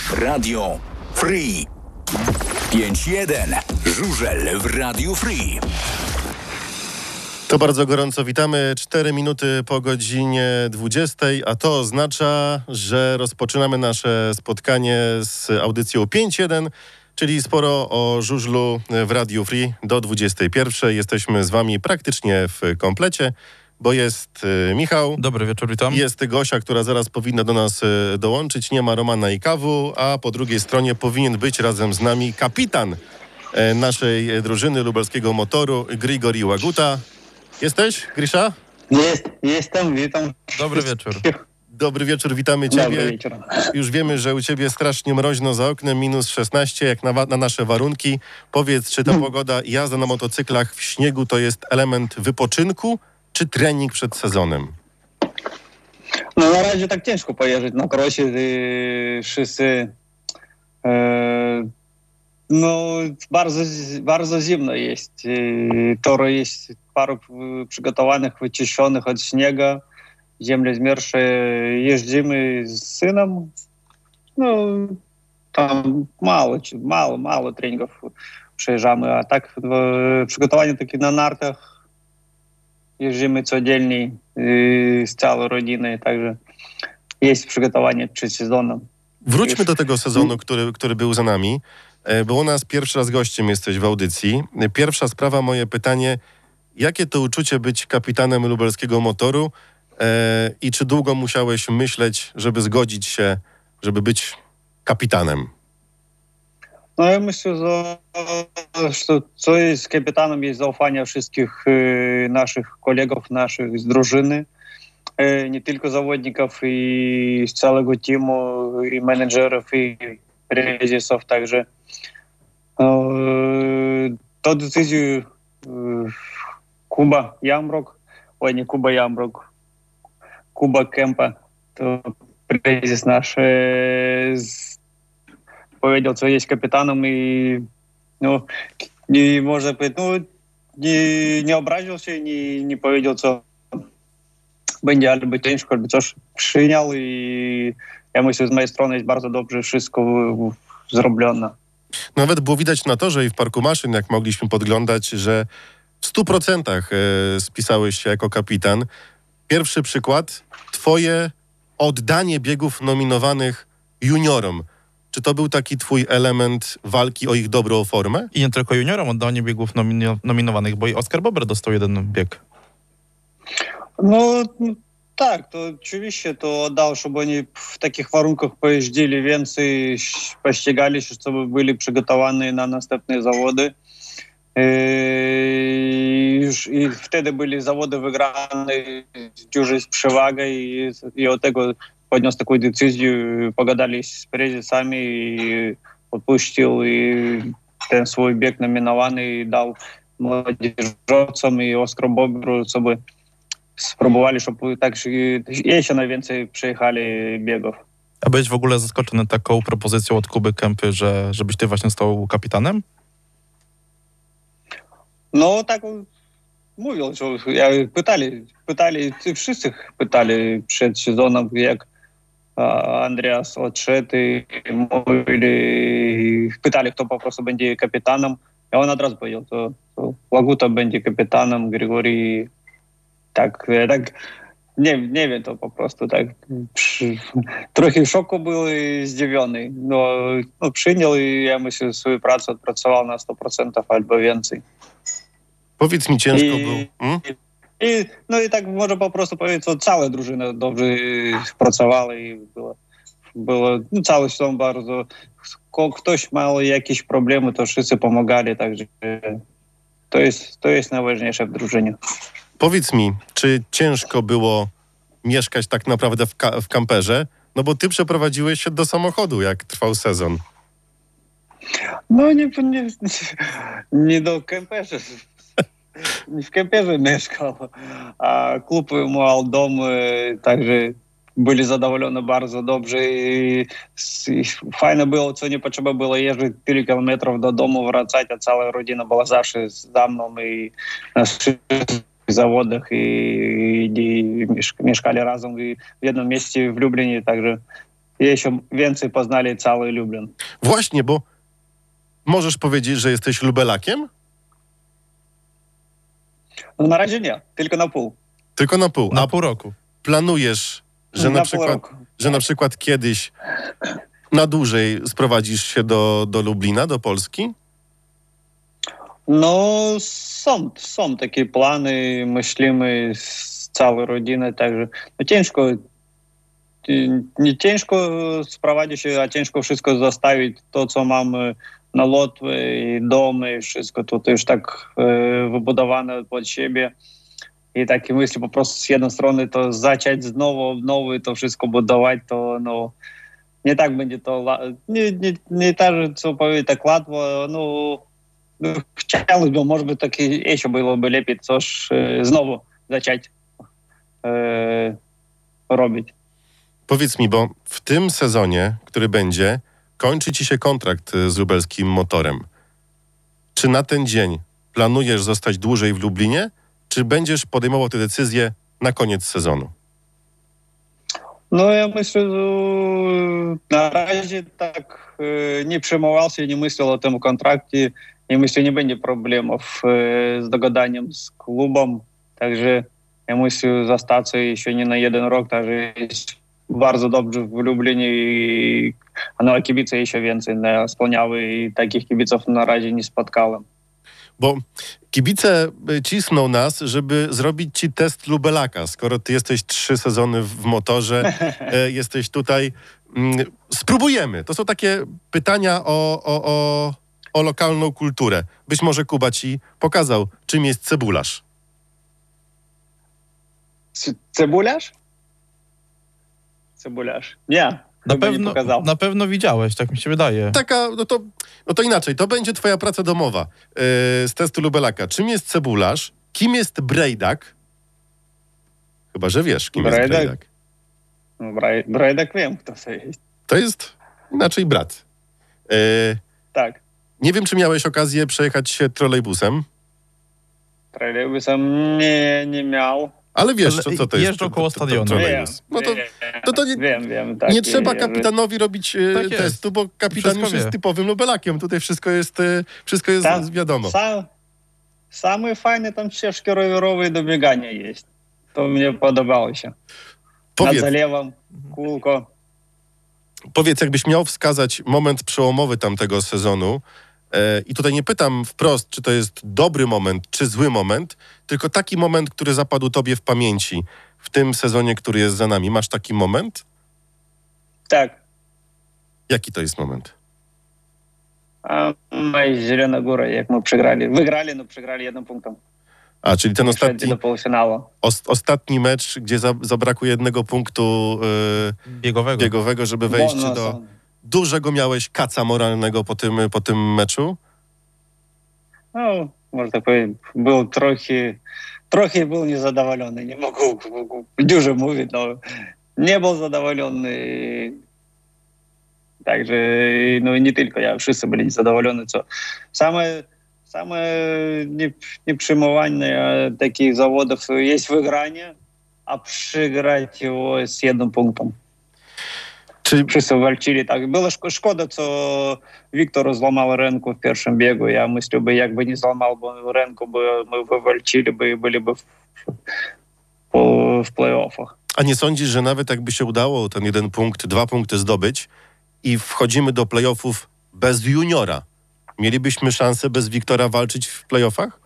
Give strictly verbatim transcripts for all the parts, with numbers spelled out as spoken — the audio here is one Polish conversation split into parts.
Radio Free. pięć jeden. Żużel w Radiu Free. To bardzo gorąco witamy. Cztery minuty po godzinie dwudziestej, a to oznacza, że rozpoczynamy nasze spotkanie z audycją pięć jeden, czyli sporo o żużlu w Radiu Free do dwudziestej pierwszej. Jesteśmy z wami praktycznie w komplecie, bo jest Michał. Dobry wieczór, witam. Jest Gosia, która zaraz powinna do nas dołączyć. Nie ma Romana i Kawu, a po drugiej stronie powinien być razem z nami kapitan naszej drużyny lubelskiego motoru, Grigori Łaguta. Jesteś, Grisza? Jest, jestem, witam. Dobry wieczór. Dobry wieczór, witamy Ciebie. Dobry wieczór. Już wiemy, że u Ciebie strasznie mroźno za oknem, minus szesnaście, jak na, na nasze warunki. Powiedz, czy ta hmm. pogoda i jazda na motocyklach w śniegu to jest element wypoczynku, czy trening przed sezonem? No na razie tak ciężko pojeżdżać na krosie. Yy, wszyscy... Yy, no bardzo, bardzo zimno jest. Yy, tory jest paru przygotowanych, wyczyszczonych od śniega. Ziemia zmiersze. Jeździmy z synem. No tam mało, mało, mało treningów przejeżdżamy. A tak przygotowanie takie na nartach. Jeździmy codziennie yy, z całą rodziną, także jest przygotowanie przed sezonem. Wróćmy Już. do tego sezonu, który, który był za nami, bo u nas pierwszy raz gościem jesteś w audycji. Pierwsza sprawa, moje pytanie, jakie to uczucie być kapitanem lubelskiego motoru e, i czy długo musiałeś myśleć, żeby zgodzić się, żeby być kapitanem? No ja myślę, że, że co jest kapitanem, jest zaufanie wszystkich e, naszych kolegów, naszych z drużyny, e, nie tylko zawodników i z całego teamu, i menedżerów, i prezesów, także e, tę decyzję e, Kuba Jamrok, oj nie Kuba Jamrok, Kuba Kempa, to prezes nasz e, z powiedział, co jest kapitanem i no, nie można powiedzieć, no, nie, nie obraził się, nie, nie powiedział, co będzie albo ciężko, albo coś przyjął i ja myślę, z mojej strony jest bardzo dobrze wszystko zrobione. Nawet było widać na torze i w parku maszyn, jak mogliśmy podglądać, że w stu procentach spisałeś się jako kapitan. Pierwszy przykład, twoje oddanie biegów nominowanych juniorom. Czy to był taki twój element walki o ich dobrą formę? I nie tylko juniorom oddanie biegów nomin- nominowanych, bo i Oskar Bober dostał jeden bieg. No tak, to oczywiście to oddał, żeby oni w takich warunkach pojeździli więcej, pościgali się, żeby byli przygotowani na następne zawody. I, już, i wtedy byli zawody wygrane już z przewagą i, i od tego podniósł taką decyzję, pogadali z prezesami i odpuścił i ten swój bieg nominowany i dał młodzieżowcom i Oskaru Boberu, żeby spróbowali, żeby tak jeszcze najwięcej przejechali biegów. A byłeś w ogóle zaskoczony taką propozycją od Kuby Kępy, że żebyś ty właśnie stał kapitanem? No tak mówią, że ja pytali, pytali, wszyscy pytali przed sezonem, jak Andreas odszedł i mówili, pytali, kto po prostu będzie kapitanem. A on od razu powiedział, to, to Łaguta będzie kapitanem, Grigori tak, tak nie, nie wiem, to po prostu tak przy, trochę w szoku był i zdziwiony. No, no przyjął i ja myślę, że swoją pracę odpracował na sto procent albo więcej. Powiedz mi, ciężko I, był. Hmm? I, no i tak może po prostu powiedzieć, że cała drużyna dobrze pracowała i było, było no cały sezon bardzo, ktoś miał jakieś problemy, to wszyscy pomagali, także to jest, to jest najważniejsze w drużynie. Powiedz mi, czy ciężko było mieszkać tak naprawdę w, ka- w kamperze? No bo ty przeprowadziłeś się do samochodu, jak trwał sezon. No nie, nie, nie do kamperza. Nie w kamperze mieszkał, a klub miał dom, także byli zadowoleni bardzo dobrze i, i fajnie było, co nie potrzeba było jeździć tyle kilometrów do domu, wracać, a cała rodzina była zawsze za mną i na zawodach i, i, i mieszkali razem i w jednym mieście w Lublinie, także jeszcze więcej poznali cały Lublin. Właśnie, bo możesz powiedzieć, że jesteś lubelakiem? No na razie nie, tylko na pół. Tylko na pół. Na A pół roku. planujesz, że na, na przykład, pół roku. że na przykład kiedyś na dłużej sprowadzisz się do, do Lublina, do Polski? No są, są takie plany, myślimy z całej rodziny, także no ciężko, nie ciężko sprowadzić się, a ciężko wszystko zostawić, to co mamy na Łotwie i domy, i wszystko to, to już tak e, wybudowane pod siebie. I takie myśli po prostu z jednej strony to zacząć znowu, znowu to wszystko budować, to no nie tak będzie to, nie, nie, nie tak, co powiedzieć, tak łatwo, no, no chciałbym, może by tak jeszcze byłoby lepiej coś e, znowu zacząć e, robić. Powiedz mi, bo w tym sezonie, który będzie, kończy ci się kontrakt z lubelskim Motorem. Czy na ten dzień planujesz zostać dłużej w Lublinie, czy będziesz podejmował tę decyzję na koniec sezonu? No ja myślę, że na razie tak e, nie przejmował się, nie myślał o tym kontrakcie i myślę, nie będzie problemów e, z dogadaniem z klubem, także ja myślę, zostać jeszcze nie na jeden rok, także jest bardzo dobrze w Lublinie i no, a kibice jeszcze więcej spełniały i takich kibiców na razie nie spotkałem. Bo kibice cisną nas, żeby zrobić ci test lubelaka. Skoro ty jesteś trzy sezony w motorze, e, jesteś tutaj. Mm, spróbujemy. To są takie pytania o, o, o, o lokalną kulturę. Być może Kuba ci pokazał, czym jest cebularz. C- cebularz? Cebularz. Nie. Na pewno, na pewno widziałeś, tak mi się wydaje. Taka, no to, no to inaczej, to będzie twoja praca domowa yy, z testu lubelaka. Czym jest cebularz? Kim jest brejdak? Chyba, że wiesz, kim Brejdak? jest brejdak. No, braj, brajdak wiem, kto to jest. To jest inaczej brat. Yy, Tak. nie wiem, czy miałeś okazję przejechać się trolejbusem, Trolejbusem nie, nie miał. ale wiesz, Ale co, co to jest. jeżdżą koło to- to- to stadionu. trolejbus. No to, wiem, to, to nie, wiem, wiem. Tak, nie trzeba i- kapitanowi robić e, Tak jest. testu, bo kapitan Wszystko już jest wie. typowym lubelakiem. Tutaj wszystko jest, e, wszystko jest Tam wiadomo. Sam, same fajne tam ścieżki rowerowe do biegania jest. To mnie podobało się. Powiedz, Nad zalewem, kółko. Powiedz, jakbyś miał wskazać moment przełomowy tamtego sezonu, e, i tutaj nie pytam wprost, czy to jest dobry moment, czy zły moment, tylko taki moment, który zapadł tobie w pamięci w tym sezonie, który jest za nami. Masz taki moment? Tak. Jaki to jest moment? A my z Zielona Góra, jak my przegrali. Wygrali, no przegrali jednym punktem. A, czyli ten Przeszli ostatni, do półfinału. os, ostatni mecz, gdzie za, zabrakło jednego punktu e, Biegowego. biegowego, żeby wejść Bonus. do... Dużego miałeś kaca moralnego po tym, po tym meczu? No, można tak powiedzieć, był trochę, trochę był niezadowolony. Nie mogę dużo mówić, no nie był zadowolony. Także, no nie tylko ja, wszyscy byli niezadowoleni. Co same, same nie, nieprzyjmowanie takich zawodów jest wygranie, a przegrać его z jednym punktem. Czy Wszyscy walczyli tak. Było szko- szkoda, co Wiktor złamał rękę w pierwszym biegu. Ja myślę, by jakby nie złamał by rękę, by my wywalczyli i byliby w, w, w play-offach. A nie sądzisz, że nawet jakby się udało ten jeden punkt, dwa punkty zdobyć i wchodzimy do playoffów bez juniora, mielibyśmy szansę bez Wiktora walczyć w playoffach?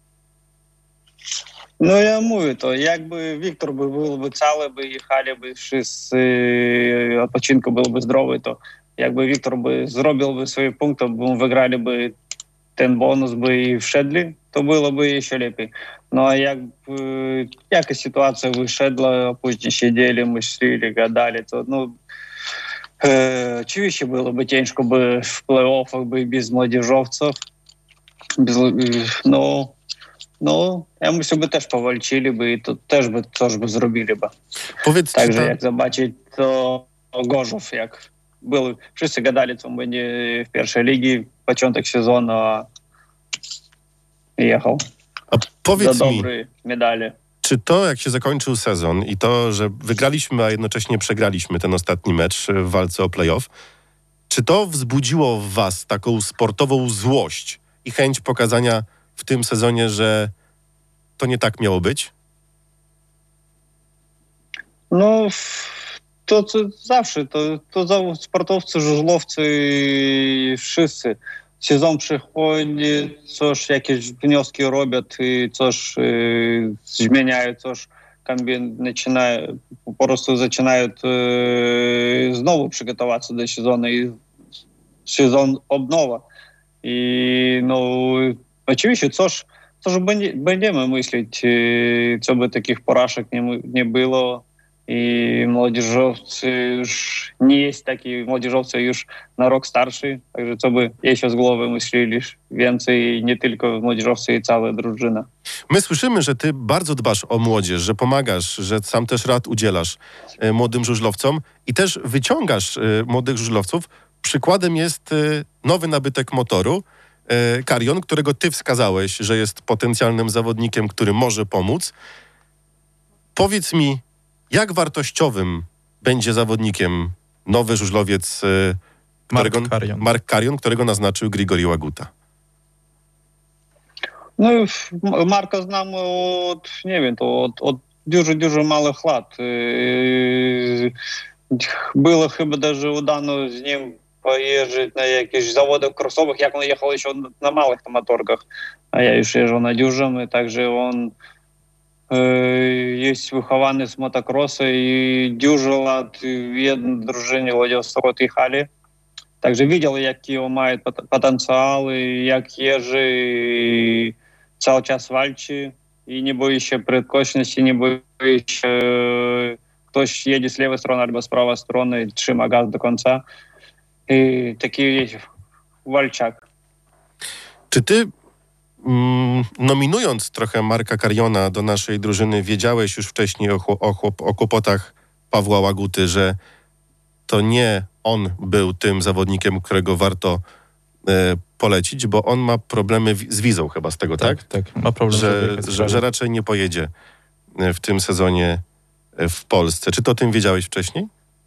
No ja mówię to, jakby Wiktor by byłby cały, by jechaliby wszyscy, odpoczynku byłby zdrowy, to jakby Wiktor by zrobiłby swoje punkty, by wygraliby ten bonus by i wszedli, to byłoby jeszcze lepiej. No a jakby jakaś sytuacja wyszedła, a później siedzieli, myśleli, gadali, to no e, oczywiście byłoby ciężko by w play-offach by bez młodzieżowców, bez, no No, ja myślę, by też powalczyli by i to też by coś by zrobili by. Powiedz, czy Także ta, jak zobaczyć, to Gorzów, jak był, wszyscy gadali, co będzie w pierwszej ligi, początek sezonu, a jechał a powiedz za mi, dobre medale. Czy to, jak się zakończył sezon i to, że wygraliśmy, a jednocześnie przegraliśmy ten ostatni mecz w walce o play-off, czy to wzbudziło w was taką sportową złość i chęć pokazania w tym sezonie, że to nie tak miało być? No, to, to zawsze, to, to za- sportowcy, żużlowcy, wszyscy. Сезон przychodzi, coś, jakieś wnioski robią i coś y, zmieniają, coś kombin- zaczynają, po prostu zaczynają y, znowu przygotować się do sezonu i sezon od nowa. I no, oczywiście coś, coś będzie, będziemy myśleć, y, co by takich porażek nie, my- nie było. I młodzieżowcy już nie jest taki, młodzieżowcy już na rok starszy, także co by jeszcze z głowy myśleli więcej, nie tylko młodzieżowcy i cała drużyna. My słyszymy, że ty bardzo dbasz o młodzież, że pomagasz, że sam też rad udzielasz e, młodym żużlowcom i też wyciągasz e, młodych żużlowców. Przykładem jest e, nowy nabytek motoru, e, Karion, którego ty wskazałeś, że jest potencjalnym zawodnikiem, który może pomóc. Powiedz mi, jak wartościowym będzie zawodnikiem nowy żużlowiec e, którego, Mark Karion. Mark Karion, którego naznaczył Grigori Łaguta? No Marka znam od, nie wiem, to od, od dużo, dużo małych lat. Yy, Było chyba даже udano z nim pojeździć na jakichś zawodach crossowych, jak on jechał jeszcze na małych motorkach, a ja już jeżdżę na dużym, i także on jest wychowany z motocrossa i dużo lat w jednej drużynie Władysławowie jechali. Także widział, jaki on ma potencjał, i jak jeży, i cały czas walczy i nie boi się prędkości, nie boi się, ktoś jedzie z lewej strony albo z prawej strony i trzyma gaz do końca. I taki jest walczak. Czy ty, mm, nominując trochę Marka Kariona do naszej drużyny, wiedziałeś już wcześniej o, chło- o, chłop- o kłopotach Pawła Łaguty, że to nie on był tym zawodnikiem, którego warto e, polecić, bo on ma problemy wi- z wizą chyba z tego, tak? Tak, tak. Ma problem, żeby Że, jechać z że, kraju. że raczej nie pojedzie e, w tym sezonie e, w Polsce. Czy to o tym wiedziałeś wcześniej?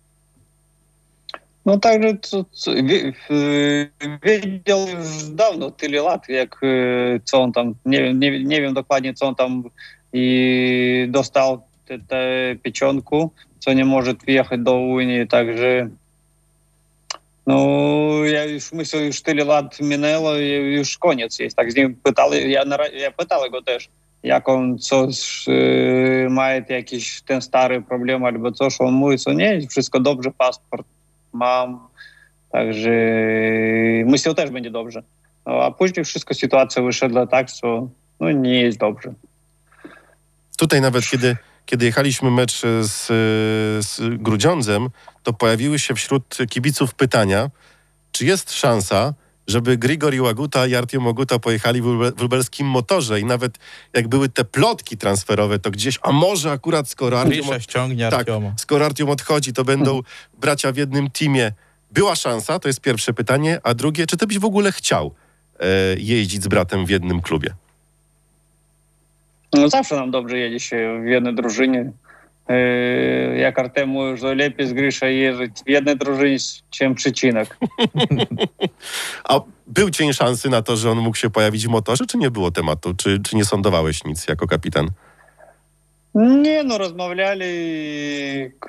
No także co, co, wie- y, wiedział już dawno, tyle lat, jak y, co on tam, nie wiem, nie, nie wiem dokładnie, co on tam i dostał tę te, pieczątku, co nie może wjechać do Unii, także no ja już myślę, już tyle lat minęło i już koniec jest. Tak z nim pytali, ja, na, ra- ja pytał go też, jak on coś y, ma jakiś ten stary problem albo coś, on mówi, co nie, wszystko dobrze, paszport mam, także myślał też będzie dobrze. No, a później wszystko, sytuacja wyszedła tak, co no, nie jest dobrze. Tutaj nawet kiedy, kiedy jechaliśmy mecz z, z Grudziądzem, to pojawiły się wśród kibiców pytania, czy jest szansa, żeby Grigori Łaguta i Artiom Łaguta pojechali w, lube, w lubelskim motorze i nawet jak były te plotki transferowe, to gdzieś, a może akurat skoro Artiom, Grisza ściągnie tak, Artioma. skoro Artiom odchodzi, to będą bracia w jednym teamie. Była szansa? To jest pierwsze pytanie. A drugie, czy ty byś w ogóle chciał e, jeździć z bratem w jednym klubie? No zawsze nam dobrze jedzie się w jednej drużynie. Yy, jak Artem mówi, że lepiej z Grisza jeździć w jednej drużynie, czym przycinek. A był cień szansy na to, że on mógł się pojawić w motorze, czy nie było tematu? Czy, czy nie sądowałeś nic jako kapitan? Nie, no rozmawiali k-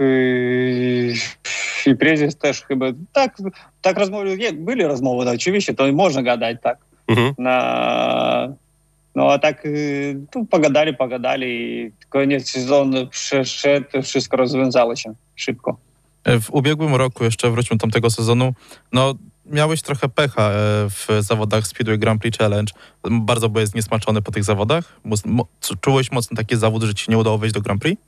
i prezes też chyba, tak, tak rozmawiali, nie, byli rozmowy, no, oczywiście, to można gadać tak, Mhm. na, no a tak y, tu pogadali, pogadali i koniec sezonu przeszedł, wszystko rozwiązało się szybko. W ubiegłym roku, jeszcze wróćmy do tamtego sezonu, no miałeś trochę pecha e, w zawodach Speedway Grand Prix Challenge. Bardzo byłeś zniesmaczony po tych zawodach? Mo- mo- czułeś mocno taki zawód, że ci się nie udało wejść do Grand Prix?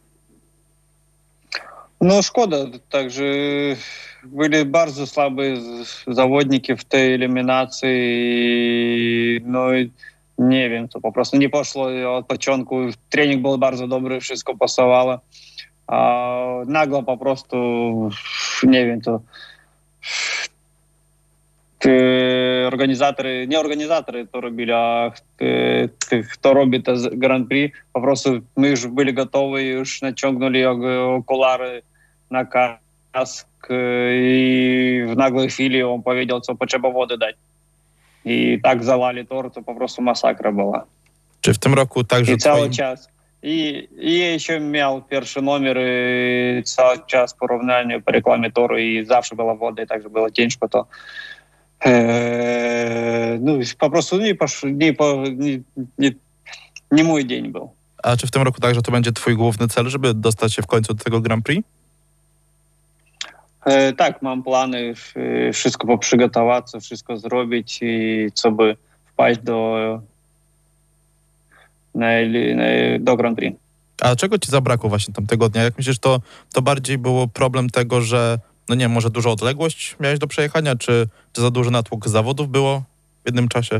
No szkoda, także byli bardzo słabe z- zawodniki w tej eliminacji i no i nie wiem, to po prostu nie poszło od początku. Trening był bardzo dobry, wszystko pasowało, a nagle po prostu, nie wiem, to ty організатори, не організатори то робили, а хто робить Гран-прі, по prostu my już byli gotowi, już naciągnęli okulary na kask i w nagłej chwili on powiedział, co potrzeba wody dać. I tak zalali tor, to po prostu masakra była. Czy w tym roku także I cały twoim... czas. I, I jeszcze miał pierwszy numer i cały czas porównanie po reklamie toru i zawsze była woda i także było ciężko to. Eee, no po prostu nie, posz, nie, po, nie, nie, nie mój dzień był. A czy w tym roku także to będzie twój główny cel, żeby dostać się w końcu do tego Grand Prix? E, tak, mam plany, e, wszystko poprzygotować, wszystko zrobić i co by wpaść do, na, na, do Grand Prix. A czego ci zabrakło właśnie tamtego dnia? Jak myślisz, to, to bardziej było problem tego, że no nie wiem, może duża odległość miałeś do przejechania, czy, czy za duży natłok zawodów było w jednym czasie?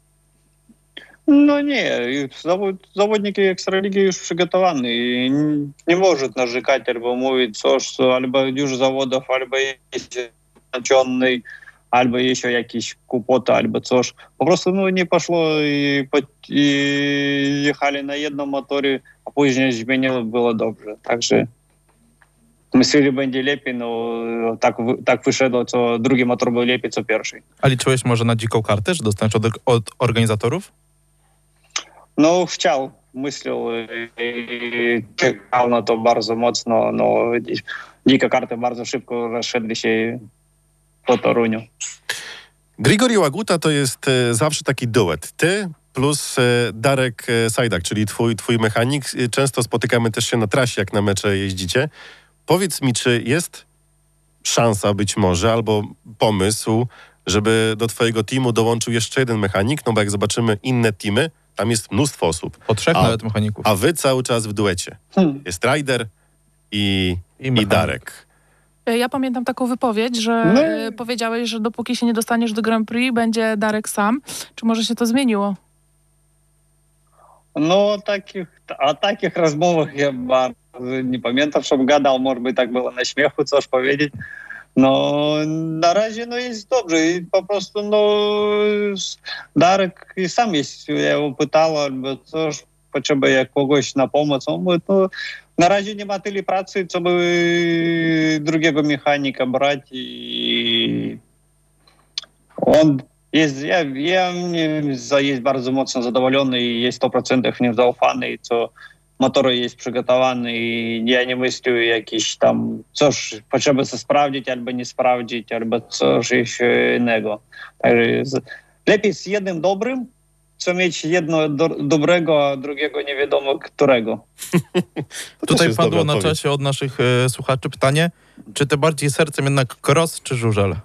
No nie, zawod, zawodniki Ekstraligi już przygotowani i nie może narzekać albo mówić coś, co albo dużo zawodów, albo jest naciągny, albo jeszcze jakieś kłopoty, albo coś. Po prostu no, nie poszło i, i jechali na jednym motorze, a później zmieniło, było dobrze. Także myśleli, będzie lepiej, no tak, tak wyszedło, co drugi motor był lepiej, co pierwszy. A liczyłeś może na dziką kartę, że dostaniesz od, od organizatorów? No chciał, myślał i czekał na to bardzo mocno, no dzika karta bardzo szybko rozszedli się po Toruniu. Grigori Łaguta to jest e, zawsze taki duet. Ty plus e, Darek e, Sajdak, czyli twój, twój mechanik. E, Często spotykamy też się na trasie, jak na mecze jeździcie. Powiedz mi, czy jest szansa być może, albo pomysł, żeby do twojego teamu dołączył jeszcze jeden mechanik, no bo jak zobaczymy inne teamy, tam jest mnóstwo osób. Po trzech A- nawet mechaników. A wy cały czas w duecie. Hmm. Jest Ryder i, I i, mechanik. Darek. Ja pamiętam taką wypowiedź, że No. e, powiedziałeś, że dopóki się nie dostaniesz do Grand Prix, będzie Darek sam. Czy może się to zmieniło? No takich, o takich rozmowach ja bardzo nie pamiętam, żebym gadał, może by tak było na śmiechu coś powiedzieć. No na razie no jest dobrze i po prostu no Darek i sam jest, ja go pytał albo coś, potrzebuje kogoś na pomoc, on mówi, no na razie nie ma tyle pracy, co by drugiego mechanika brać i on jest, ja, ja nim jest bardzo mocno zadowolony i jest sto procent w nim zaufany, co motor jest przygotowany i ja nie myślę jakiś tam coś potrzeba sprawdzić albo nie sprawdzić, albo coś jeszcze innego. Także z, lepiej z jednym dobrym, co mieć jedno do, dobrego, a drugiego nie wiadomo którego. To też Tutaj jest padło dobra na odpowiedź. czasie od naszych e, słuchaczy pytanie, czy ty bardziej sercem jednak Cross czy Żużel?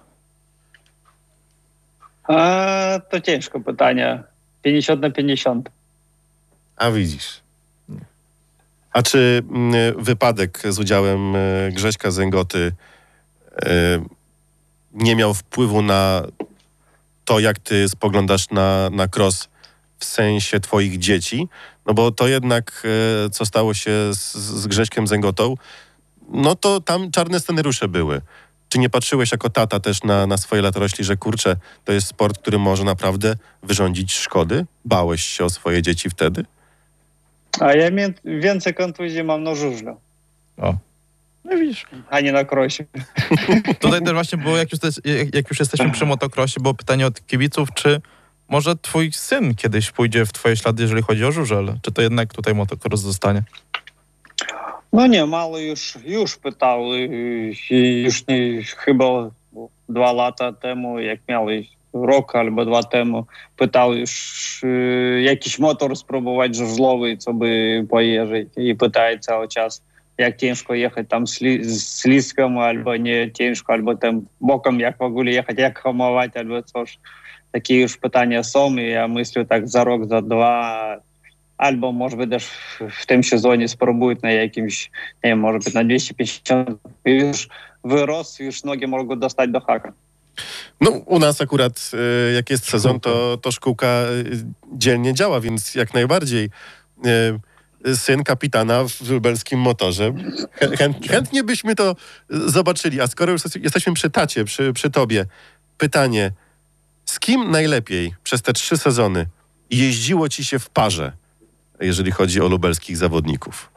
A, to ciężko pytanie. pięćdziesiąt na pięćdziesiąt. A widzisz. A czy mm, wypadek z udziałem e, Grześka Zęgoty e, nie miał wpływu na to, jak ty spoglądasz na, na cross w sensie twoich dzieci? No bo to jednak, e, co stało się z, z Grześkiem Zęgotą, no to tam czarne scenariusze były. Czy nie patrzyłeś jako tata też na, na swoje latorośli, że kurczę, to jest sport, który może naprawdę wyrządzić szkody? Bałeś się o swoje dzieci wtedy? A ja mię- więcej kontuzji mam na żużlu, O. No widzisz. a nie na krosie. Tutaj też właśnie było, jak już, też, jak, jak już jesteśmy przy motocrossie, było pytanie od kibiców, czy może twój syn kiedyś pójdzie w twoje ślady, jeżeli chodzi o żużel? Czy to jednak tutaj motocross zostanie? No nie, mały już, już pytał, y, i już nie, chyba dwa lata temu, jak miał rok albo dwa temu, pytał już y, jakiś motor spróbować żużlowy, co by pojeżdżać i pytaje cały czas, jak ciężko jechać tam sli, z śliską, albo nie ciężko, albo tam bokiem, jak w ogóle jechać, jak hamować, albo coś. Takie już pytania są i ja myślę tak za rok, za dwa, albo może być też w tym sezonie spróbują na jakimś, nie wiem, może być na dwieście pięćdziesiąt, już wyrost, już nogi mogą dostać do haka. No, u nas akurat, y, jak jest sezon, to, to szkółka y, dzielnie działa, więc jak najbardziej y, syn kapitana w lubelskim motorze. Chę, chęt, chętnie byśmy to y, zobaczyli. A skoro już jesteśmy przy tacie, przy, przy tobie, pytanie, Z kim najlepiej przez te trzy sezony jeździło ci się w parze, jeżeli chodzi o lubelskich zawodników?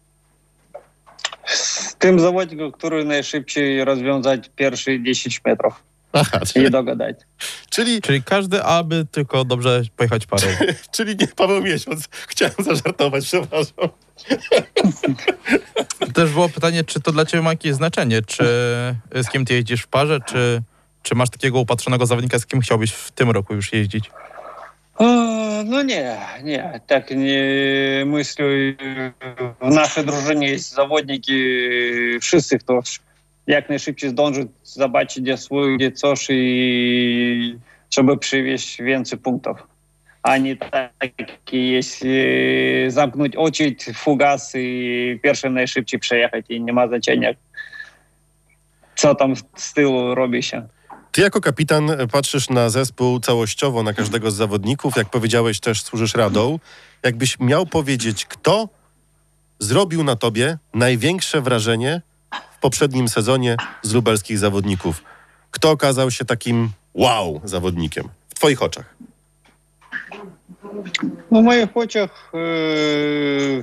Z tym zawodnikiem, który najszybciej rozwiązać pierwsze dziesięć metrów Aha, i czyli, dogadać. czyli, Czyli każdy, aby tylko dobrze pojechać parą. czyli nie Paweł Miesiąc. Chciałem zażartować, przepraszam. Też było pytanie, czy to dla ciebie ma jakieś znaczenie, czy z kim ty jeździsz w parze, czy, czy masz takiego upatrzonego zawodnika, z kim chciałbyś w tym roku już jeździć? O, no nie, nie, tak nie myślę. W naszej drużynie jest zawodniki, wszyscy, kto jak najszybciej zdąży zobaczyć, gdzie swój, gdzie coś i żeby przywieźć więcej punktów. A nie takie jest zamknąć oczy, fugas i pierwszym najszybciej przejechać i nie ma znaczenia, co tam z tyłu robi się. Ty jako kapitan patrzysz na zespół całościowo, na każdego z zawodników. Jak powiedziałeś, też służysz radą. Jakbyś miał powiedzieć, kto zrobił na tobie największe wrażenie w poprzednim sezonie z lubelskich zawodników? Kto okazał się takim wow zawodnikiem w twoich oczach? W moich oczach yy,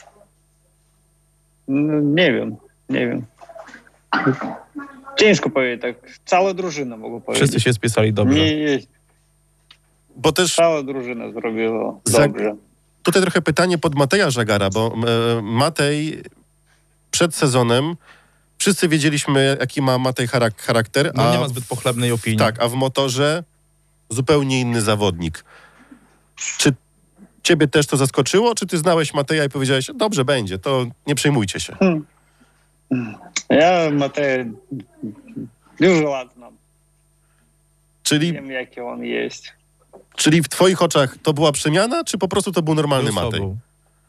nie wiem, nie wiem. Ciężko powiedzieć, tak. Cała drużyna mogę powiedzieć. Wszyscy się spisali dobrze. Nie jest. Bo też Cała drużyna zrobiła Za- dobrze. tutaj trochę pytanie pod Mateja Żagara, bo e, Matej przed sezonem wszyscy wiedzieliśmy, jaki ma Matej charak- charakter, No nie a ma zbyt pochlebnej opinii. tak, a w motorze zupełnie inny zawodnik. Czy ciebie też to zaskoczyło, czy ty znałeś Mateja i powiedziałeś, dobrze będzie, to nie przejmujcie się? Ja Mateja dużo lat znam. Czyli, Wiem, jaki on jest. czyli w twoich oczach to była przemiana, czy po prostu to był normalny Był Matej? sobą.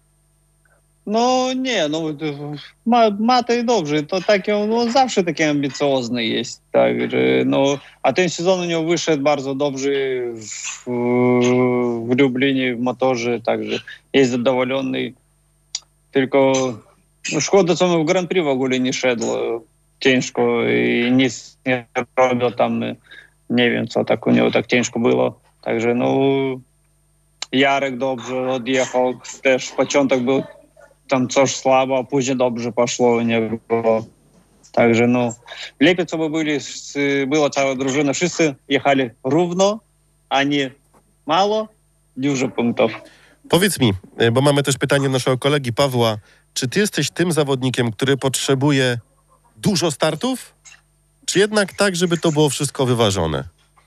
No nie, no ma, Matej dobrze, to taki on no, zawsze taki ambicjozny jest, także no, a ten sezon u niego wyszedł bardzo dobrze w, w Lublinie, w motorze, także jest zadowolony, tylko no, szkoda, co on w Grand Prix w ogóle nie szedł, ciężko i nic nie robił tam, nie wiem co tak u niego tak ciężko było, także no Jarek dobrze odjechał, też początek był tam coś słabo, a później dobrze poszło u niego. Także no, lepiej, co by byli, była cała drużyna, wszyscy jechali równo, a nie mało, dużo punktów. Powiedz mi, bo mamy też pytanie naszego kolegi Pawła, czy ty jesteś tym zawodnikiem, który potrzebuje dużo startów, czy jednak tak, żeby to było wszystko wyważone?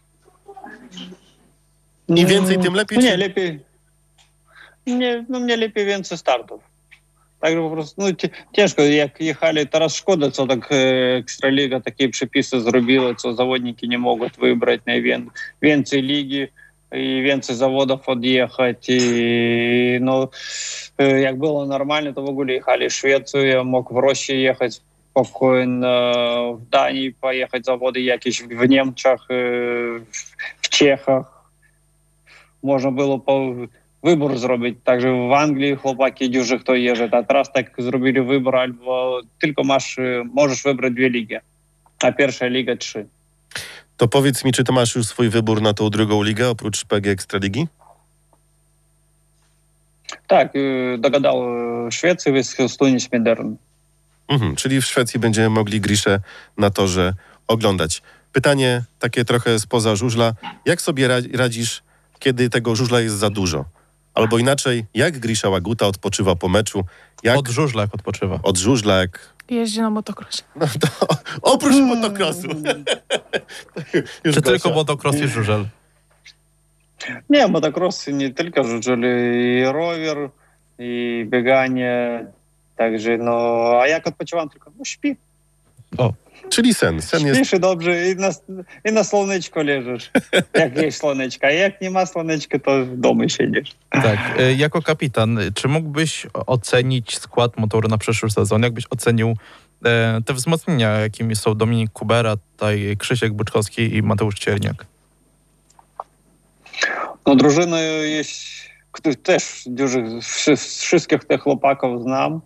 Im więcej, tym lepiej? No nie, Czy... lepiej. Nie, no mnie lepiej więcej startów. Także po prostu, no ciężko, jak jechali, teraz szkoda, co tak Ekstraliga takie przepisy zrobiła, co zawodniki nie mogą wybrać najwięcej ligi i więcej zawodów odjechać. I no, jak było normalnie, to w ogóle jechali w Szwecję, mógł w Rosji jechać spokojnie, w Danii pojechać zawody jakieś w Niemczech, w Czechach. Można było po wybór zrobić. Także w Anglii chłopaki dużo kto jeżdżą. A teraz tak zrobili wybór, albo tylko masz, możesz wybrać dwie ligi, a pierwsza liga trzy. To powiedz mi, czy ty masz już swój wybór na tą drugą ligę, oprócz P G Ekstraligi? Tak, dogadał Szwecji, Wyschostunie Smedern. Mhm, czyli w Szwecji będziemy mogli Griszę na torze oglądać. Pytanie takie trochę spoza żużla. Jak sobie radzisz, kiedy tego żużla jest za dużo? Albo inaczej, jak Grisza Łaguta odpoczywa po meczu? Jak Od żużla jak odpoczywa. od żużla, jak... Jeździ na motocrossie. No to, oprócz motocrossu. Już Czy Gosia. tylko motocross i żużel? Nie, motocrossy nie tylko żużel, i rower, i bieganie. Także no, a jak odpoczywam tylko? No śpi. O, Czyli sen. Sen jest... Śpisz i dobrze i na, i na słoneczko leżysz. Jak jest słoneczka, a jak nie ma słoneczka, to w domu siedzisz. tak. E, Jako kapitan, czy mógłbyś ocenić skład motoru na przyszły sezon? Jakbyś ocenił e, te wzmocnienia, jakimi są Dominik Kubera, tutaj Krzysiek Byczkowski i Mateusz Cierniak? No drużyna jest, też dużych, wszystkich tych chłopaków znam.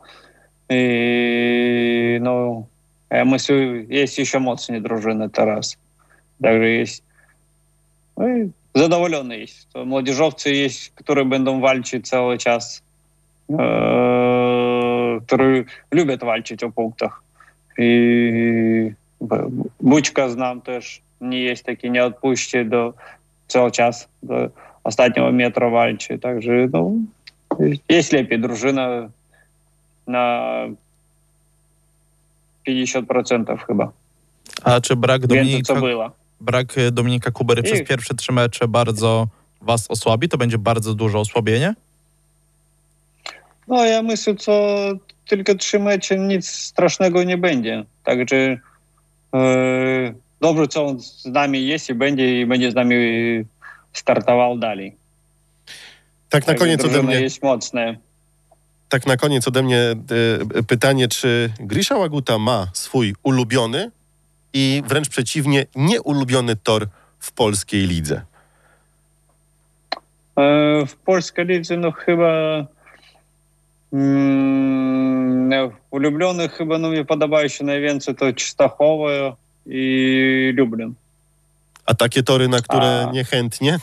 I no, ja myślę, jest jeszcze mocniej drużyna teraz. Także jest No i zadowolony jest. To młodzieżowcy jest, które będą walczyć cały czas, e, które lubią walczyć o punktach. I Bućka znam też, nie jest taki, nie odpuści do cały czas, do ostatniego metra walczy. Także no, jest lepiej drużyna na pięćdziesiąt procent chyba. A czy brak Więcej Dominika, co było. brak Dominika Kubery I- przez pierwsze trzy mecze bardzo was osłabi? To będzie bardzo duże osłabienie? No ja myślę, co tylko trzy mecze, nic strasznego nie będzie. Także e, dobrze, co on z nami jest i będzie, i będzie z nami startował dalej. Tak na Także koniec ode drużyna mnie, jest mocna. tak na koniec ode mnie e, pytanie, czy Grisha Łaguta ma swój ulubiony i wręcz przeciwnie, nieulubiony tor w polskiej lidze? E, w polskiej lidze no chyba mm, no, ulubionych chyba no, mi podobają się najwięcej to Częstochowa i Lublin. A takie tory, na które A. niechętnie?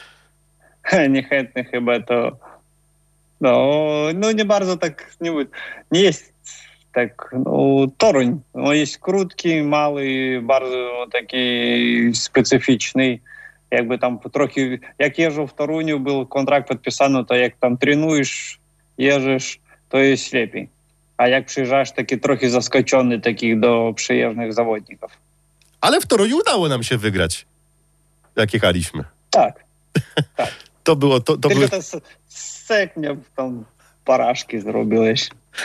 Niechętnie chyba to no, no nie bardzo tak nie, nie jest tak no, Toruń. On jest krótki, mały, bardzo taki specyficzny. Jakby tam trochę, jak jeżdżę w Toruniu, był kontrakt podpisany, to jak tam trenujesz, jeżdżesz, to jest lepiej. A jak przyjeżdżasz taki trochę zaskoczony takich do przyjezdnych zawodników. Ale w Toruniu udało nam się wygrać, jak jechaliśmy. Tak. To było, to, to Tylko były, to s- seknie tam porażki zrobiłeś.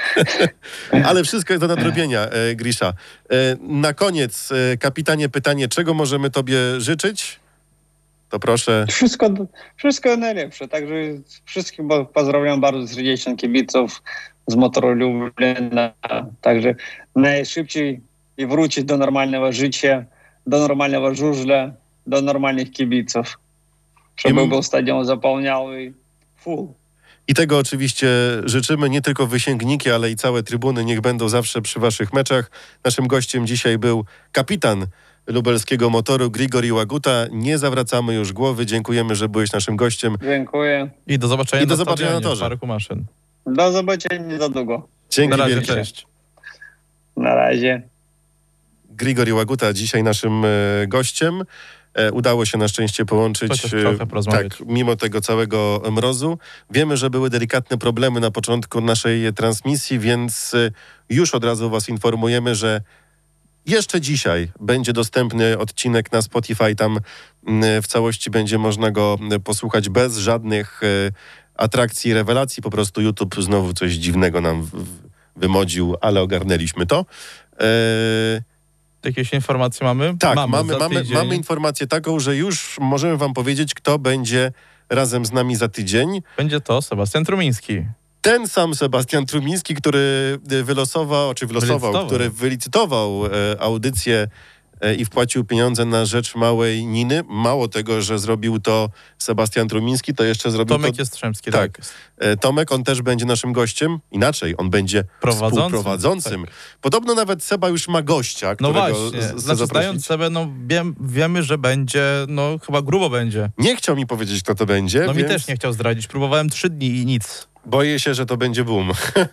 ale wszystko jest do nadrobienia, e, Grisha. E, na koniec, e, kapitanie, pytanie, czego możemy tobie życzyć? To proszę. Wszystko, wszystko najlepsze. Także wszystkich bo- pozdrawiam bardzo serdecznie kibiców z Motoru Lublina. Także najszybciej i wrócić do normalnego życia, do normalnego żużla, do normalnych kibiców. Żeby I- był stadion zapełniały full. I tego oczywiście życzymy, nie tylko wysięgniki, ale i całe trybuny niech będą zawsze przy waszych meczach. Naszym gościem dzisiaj był kapitan lubelskiego Motoru Grigori Łaguta. Nie zawracamy już głowy. Dziękujemy, że byłeś naszym gościem. Dziękuję. I do zobaczenia, I do na, zobaczenia na stadionie, torze. w Parku Maszyn. Do zobaczenia za długo. Dzięki Na razie, wielkie. cześć. Na razie. Grigori Łaguta dzisiaj naszym e, gościem. E, udało się na szczęście połączyć. Chociaż e, trochę porozmawiać. Tak, mimo tego całego mrozu. Wiemy, że były delikatne problemy na początku naszej transmisji, więc e, już od razu was informujemy, że jeszcze dzisiaj będzie dostępny odcinek na Spotify. Tam mm, w całości będzie można go mm, posłuchać bez żadnych e, atrakcji, rewelacji. Po prostu YouTube znowu coś dziwnego nam w, w, wymodził, ale ogarnęliśmy to. E, Jakieś informacje mamy? tak, mamy, mamy, za mamy, tydzień. mamy informację taką, że już możemy wam powiedzieć, kto będzie razem z nami za tydzień. Będzie to Sebastian Trumiński. Ten sam Sebastian Trumiński, który y, wylosował, czy wylosował, Wylicytował. który wylicytował e, audycję e, i wpłacił pieniądze na rzecz małej Niny. Mało tego, że zrobił to Sebastian Trumiński, to jeszcze zrobił Tomek to Jastrzębski, tak. tak. e, Tomek. On też będzie naszym gościem. Inaczej, on będzie Prowadzącym, współprowadzącym. tak. Podobno nawet Seba już ma gościa, No którego właśnie, z- chce znaczy zaprosić. znając sobie, no wiem, wiemy, że będzie, no chyba grubo będzie. Nie chciał mi powiedzieć, kto to będzie, No mi więc też nie chciał zdradzić. Próbowałem trzy dni i nic. boję się, że to będzie boom.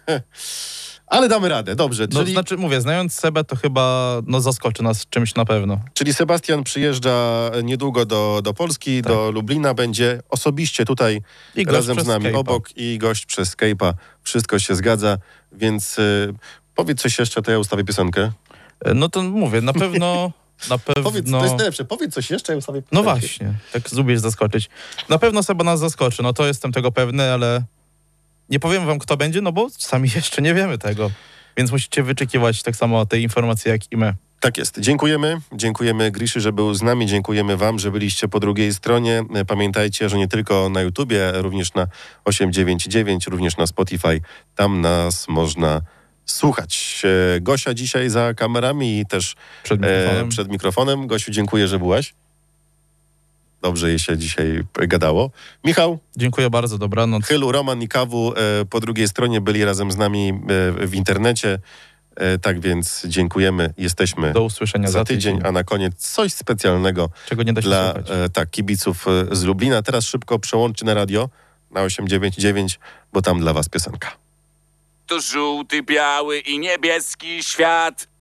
Ale damy radę, dobrze. No Czyli, znaczy mówię, znając Sebę, to chyba no zaskoczy nas czymś na pewno. czyli Sebastian przyjeżdża niedługo do, do Polski, Tak. do Lublina, będzie osobiście tutaj I gość razem z przez nami Skype'a. obok i gość przez Skype'a. Wszystko się zgadza, więc y, powiedz coś jeszcze, to ja ustawię piosenkę. No to mówię, na pewno, na pewno... Powiedz, to jest najlepsze, powiedz coś jeszcze, ja ustawię piosenkę. No właśnie, tak lubisz zaskoczyć. Na pewno Seba nas zaskoczy, no to jestem tego pewny, ale nie powiem wam, kto będzie, no bo sami jeszcze nie wiemy tego. Więc musicie wyczekiwać tak samo tej informacji, jak i my. Tak jest. Dziękujemy. Dziękujemy Griszy, że był z nami. Dziękujemy wam, że byliście po drugiej stronie. Pamiętajcie, że nie tylko na YouTubie, również na osiem dziewięć dziewięć, również na Spotify. Tam nas można słuchać. E, Gosia dzisiaj za kamerami i też Przed e, mikrofonem. przed mikrofonem. Gosiu, dziękuję, że byłaś. Dobrze jej się dzisiaj gadało. Michał, Dziękuję bardzo, dobranoc. Chylu, Roman i Kawu e, po drugiej stronie byli razem z nami e, w internecie. E, tak więc dziękujemy, jesteśmy Do usłyszenia za tydzień, a na koniec coś specjalnego czego nie da się dla słuchać. e, tak, kibiców e, z Lublina. Teraz szybko przełączcie na radio na osiem dziewięć dziewięć, bo tam dla was piosenka. To żółty, biały i niebieski świat.